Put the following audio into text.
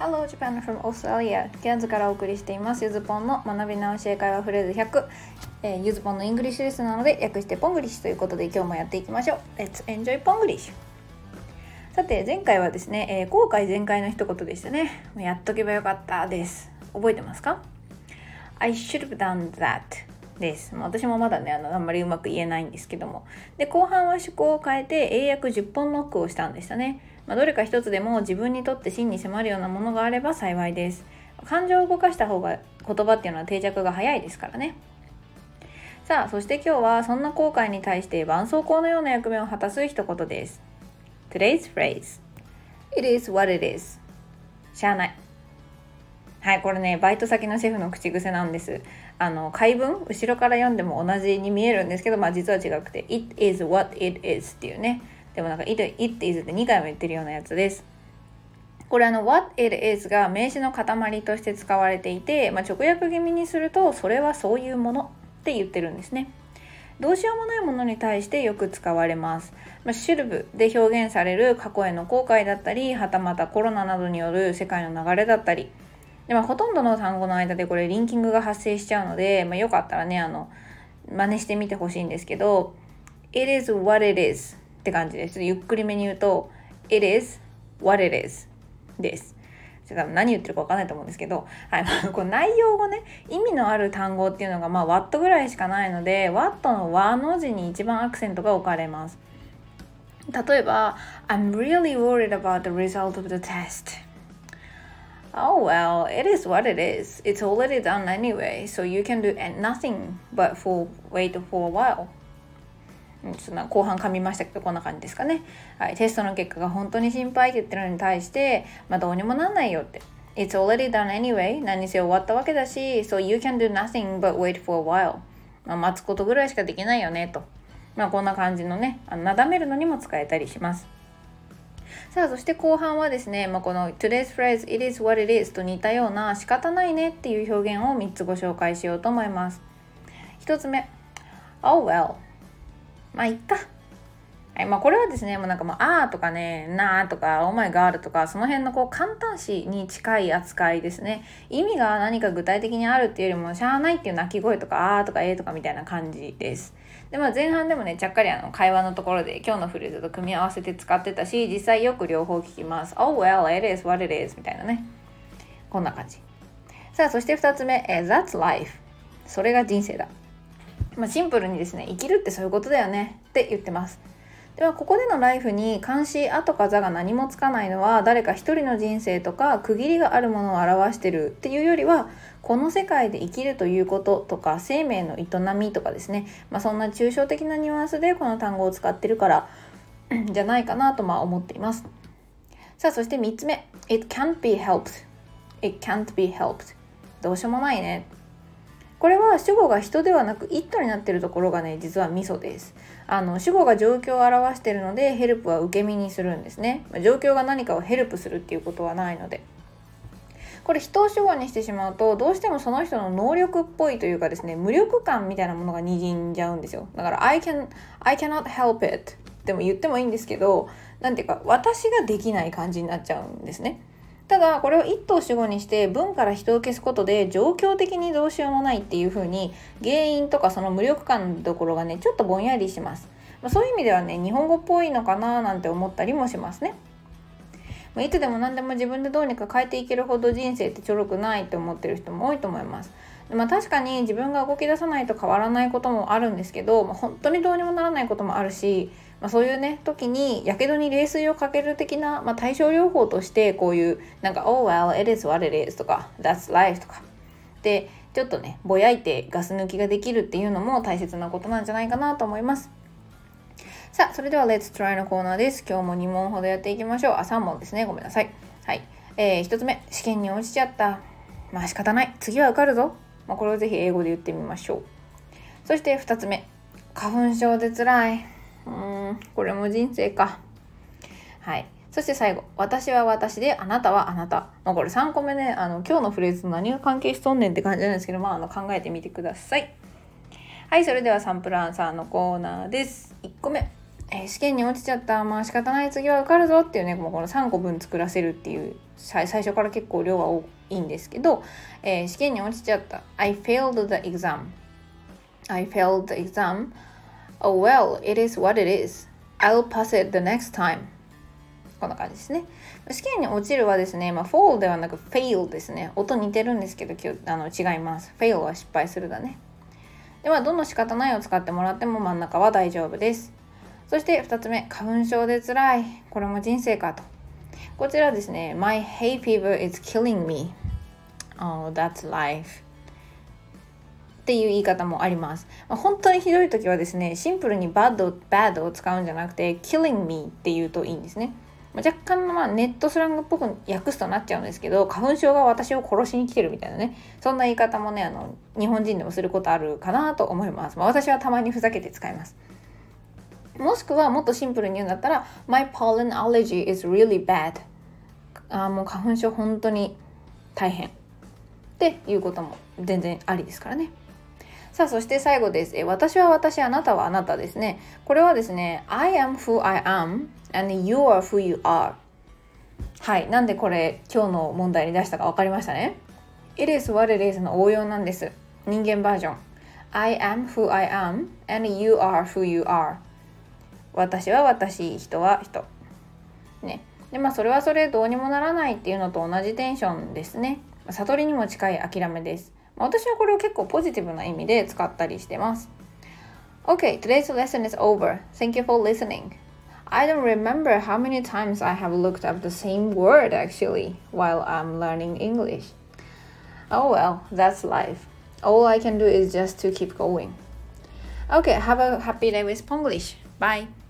Hello Japan from Australia。 ケアンズからお送りしていますゆずぽんの学び直し英会話フレーズ100、ゆずぽんのイングリッシュレッスンなので略してポングリッシュということで今日もやっていきましょう。 Let's enjoy ポングリッシュ。さて前回はですね、後悔全開の一言でしたね。やっとけばよかったです。覚えてますか？ I should have done that です。私もまだねあんまりうまく言えないんですけども、で後半は趣向を変えて英訳10本ノックをしたんでしたね。どれか一つでも自分にとって真に迫るようなものがあれば幸いです。感情を動かした方が言葉っていうのは定着が早いですからね。さあそして今日はそんな後悔に対して絆創膏のような役目を果たす一言です。 Today's phrase It is what it is。 しゃあない。はい、これねバイト先のシェフの口癖なんです。回文後ろから読んでも同じに見えるんですけど、実は違くて It is what it is っていうね。でもit is って2回も言ってるようなやつです。これwhat it is が名詞の塊として使われていて、直訳気味にするとそれはそういうものって言ってるんですね。どうしようもないものに対してよく使われます。should have で表現される過去への後悔だったり、はたまたコロナなどによる世界の流れだったりで、ほとんどの単語の間でこれリンキングが発生しちゃうので、よかったらね真似してみてほしいんですけど、 It is what it is って感じです。ゆっくりめに言うと It is what it is です。何言ってるか分かんないと思うんですけど、はい、この内容がね意味のある単語っていうのがwhat ぐらいしかないので what の和の字に一番アクセントが置かれます。例えば I'm really worried about the result of the test。Oh well, it is what it is. It's already done anyway, so you can do nothing but wait for a while. そんな後半噛みましたけどこんな感じですかね。はい、テストの結果が本当に心配って言ってるのに対して、どうにもなんないよって。It's already done anyway. 何せ終わったわけだし、so you can do nothing but wait for a while. 待つことぐらいしかできないよねと。こんな感じのね、なだめるのにも使えたりします。さあそして後半はですね、この Today's phrase It is what it is と似たような仕方ないねっていう表現を3つご紹介しようと思います。1つ目 Oh well、いっか。はい、これはですね、あーとかね、なーとか、オーマイガールとか、その辺の簡単詞に近い扱いですね。意味が何か具体的にあるっていうよりも、しゃーないっていう鳴き声とか、あーとかえーとかみたいな感じです。で、前半でもね、ちゃっかり会話のところで今日のフレーズと組み合わせて使ってたし、実際よく両方聞きます。Oh well, it is what it is みたいなね。こんな感じ。さあ、そして2つ目、That's life。それが人生だ。シンプルにですね、生きるってそういうことだよねって言ってます。ではここでのライフに漢詞あとかざが何もつかないのは誰か一人の人生とか区切りがあるものを表してるっていうよりは、この世界で生きるということとか生命の営みとかですね、そんな抽象的なニュアンスでこの単語を使ってるからじゃないかなと思っています。さあそして3つ目 It can't be helped。 It can't be helped。 どうしようもないね。これは主語が人ではなく it になっているところがね実はミソです。主語が状況を表しているのでヘルプは受け身にするんですね。状況が何かをヘルプするっていうことはないので、これ人を主語にしてしまうとどうしてもその人の能力っぽいというかですね、無力感みたいなものがにじんじゃうんですよ。だから I cannot help it でも言ってもいいんですけど、なんていうか私ができない感じになっちゃうんですね。ただこれを一頭主語にして文から人を消すことで状況的にどうしようもないっていう風に原因とかその無力感のところがねちょっとぼんやりします。そういう意味ではね日本語っぽいのかななんて思ったりもしますね。いつでも何でも自分でどうにか変えていけるほど人生ってちょろくないって思ってる人も多いと思います。確かに自分が動き出さないと変わらないこともあるんですけど、本当にどうにもならないこともあるし、そういうね時にやけどに冷水をかける的な、対症療法としてこういうOh well, it is what it is とか That's life とかでちょっとねぼやいてガス抜きができるっていうのも大切なことなんじゃないかなと思います。さあそれでは Let's try のコーナーです。今日も2問ほどやっていきましょう。3問ですね、ごめんなさい。はい、1つ目試験に落ちちゃった。仕方ない、次は受かるぞ。これをぜひ英語で言ってみましょう。そして2つ目花粉症で辛い。これも人生か。はい。そして最後私は私であなたはあなた。これ3個目ね今日のフレーズと何が関係しとんねんって感じなんですけど、考えてみてください。はい、それではサンプルアンサーのコーナーです。1個目試験に落ちちゃった、まあ仕方ない、次は受かるぞっていうね、もうこの3個分作らせるっていう最初から結構量は多いんですけど、試験に落ちちゃった。 I failed the exam. I failed the exam. Oh well, it is what it is. I'll pass it the next time. こんな感じですね。試験に落ちるはですね、fall ではなく fail ですね。音似てるんですけど違います。fail は失敗するだね。ではどの仕方ないを使ってもらっても真ん中は大丈夫です。そして2つ目、花粉症で辛い、これも人生かと。こちらですね、 My hay fever is killing me. Oh, that's life. っていう言い方もあります。本当にひどい時はですね、シンプルに bad を使うんじゃなくて killing me って言うといいんですね。若干のネットスラングっぽく訳すとなっちゃうんですけど、花粉症が私を殺しに来てるみたいなね、そんな言い方もね、日本人でもすることあるかなと思います。私はたまにふざけて使います。もしくはもっとシンプルに言うんだったら My pollen allergy is really bad. もう花粉症本当に大変っていうことも全然ありですからね。さあ、そして最後です。私は私、あなたはあなたですね。これはですね、I am who I am and you are who you are。 はい、なんでこれ今日の問題に出したか分かりましたね。 It is what it is の応用なんです。人間バージョン。 I am who I am and you are who you are。 私は私、人は人ね。でそれはそれどうにもならないっていうのと同じテンションですね。悟りにも近い諦めです。私はこれを結構ポジティブな意味で使ったりしてます。 Okay, today's lesson is over. Thank you for listening. I don't remember how many times I have looked up the same word actually while I'm learning English. Oh well, that's life. All I can do is just to keep going. Okay, have a happy day with Ponglish. Bye.